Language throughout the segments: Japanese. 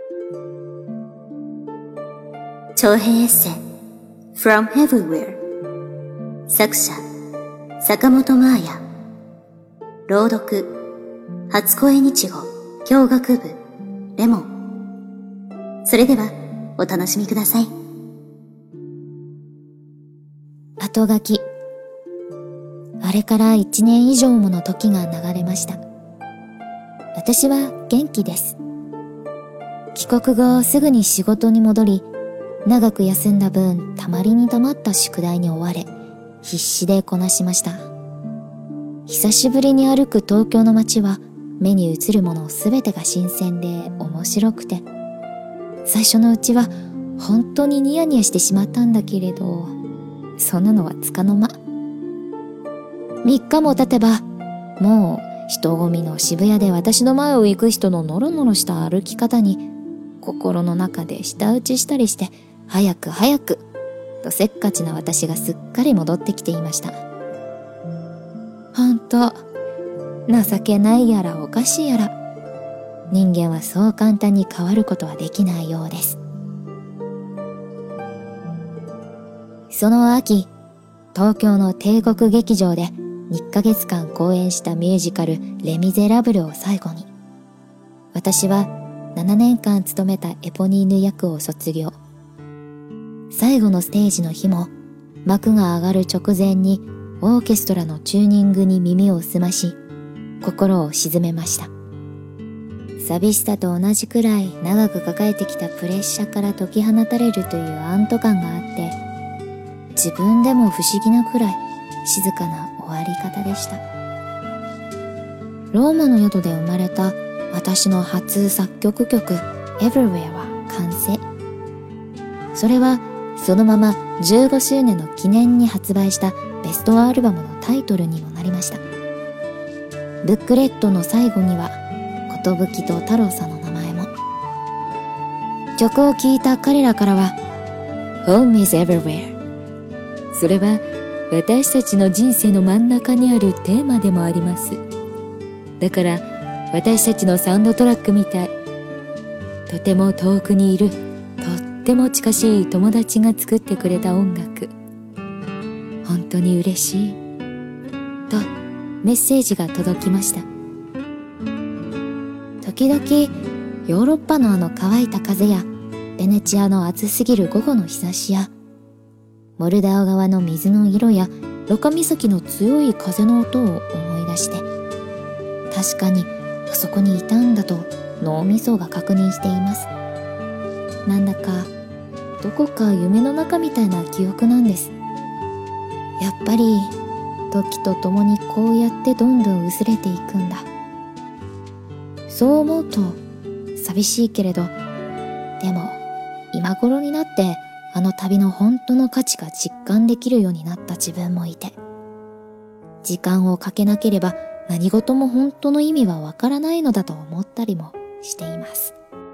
長編エッセイ From Everywhere 作者坂本真綾朗読初恋日語教学部レモン。それではお楽しみください。 後書き。あれから1年以上もの時が流れました。私は元気です。帰国後すぐに仕事に戻り、長く休んだ分たまりにたまった宿題に追われ、必死でこなしました。久しぶりに歩く東京の街は目に映るものすべてが新鮮で面白くて、最初のうちは本当にニヤニヤしてしまったんだけれど、そんなのはつかの間。3日も経てば、もう人混みの渋谷で私の前を行く人のノロノロした歩き方に心の中で舌打ちしたりして、早く早くとせっかちな私がすっかり戻ってきていました。ほんと情けないやらおかしいやら、人間はそう簡単に変わることはできないようです。その秋、東京の帝国劇場で1ヶ月間公演したミュージカルレ・ミゼラブルを最後に、私は7年間務めたエポニーヌ役を卒業。最後のステージの日も幕が上がる直前にオーケストラのチューニングに耳を澄まし、心を鎮めました。寂しさと同じくらい長く抱えてきたプレッシャーから解き放たれるという安堵感があって、自分でも不思議なくらい静かな終わり方でした。ローマの宿で生まれた私の初作曲曲 Everywhere は完成。それはそのまま15周年の記念に発売したベストアルバムのタイトルにもなりました。ブックレットの最後には寿と太郎さんの名前も。曲を聴いた彼らからは Home is everywhere。 それは私たちの人生の真ん中にあるテーマでもあります。だから私たちのサウンドトラックみたい。とても遠くにいるとっても近しい友達が作ってくれた音楽。本当に嬉しいとメッセージが届きました。時々ヨーロッパのあの乾いた風やベネチアの暑すぎる午後の日差しやモルダオ川の水の色やロカ岬の強い風の音を思い出して、確かにあそこにいたんだと脳みそが確認しています。なんだかどこか夢の中みたいな記憶なんです。やっぱり時とともにこうやってどんどん薄れていくんだ。そう思うと寂しいけれど、でも今頃になってあの旅の本当の価値が実感できるようになった自分もいて、時間をかけなければ何事も本当の意味はわからないのだと思ったりもしています。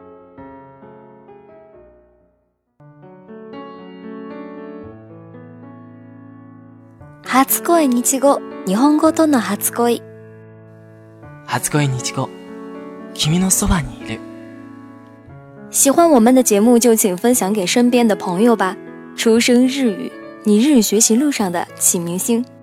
初恋日語、日本語との初恋。 初恋日語、君のそばにいる。 喜欢我们的节目就请分享给身边的朋友吧。出生日语，你日语学习路上的启明星。